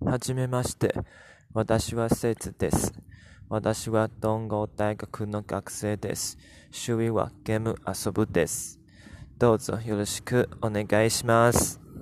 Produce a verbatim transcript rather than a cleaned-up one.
はじめまして。私はせつです。私は東郷大学の学生です。趣味はゲーム遊ぶです。どうぞよろしくお願いします。